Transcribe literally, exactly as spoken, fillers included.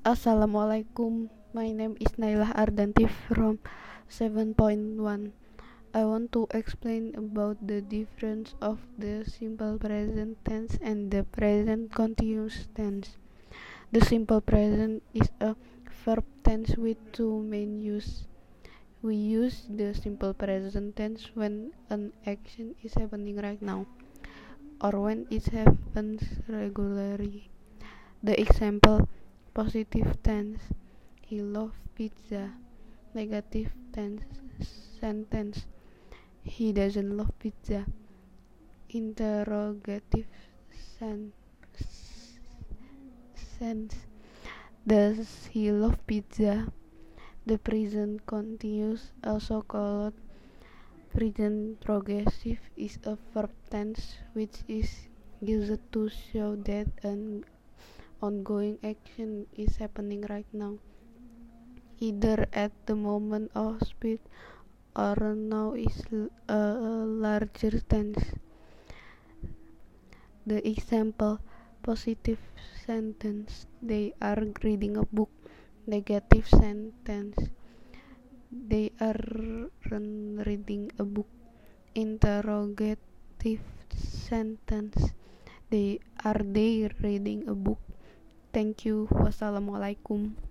Assalamualaikum. My name is Nailah Ardanti from seven point one. I want to explain about the difference of the simple present tense and the present continuous tense. The simple present is a verb tense with two main use. We use the simple present tense when an action is happening right now or when it happens regularly. The example: positive tense, he loves pizza. Negative tense sentence, he doesn't love pizza. Interrogative sen- sense, does he love pizza? The present continuous, also called present progressive, is a verb tense which is used to show that an ongoing action is happening right now, either at the moment of speech or now is a larger tense. The example: positive sentence, they are reading a book. Negative sentence, they aren't reading a book. Interrogative sentence, they are they reading a book. Thank you. Wassalamualaikum.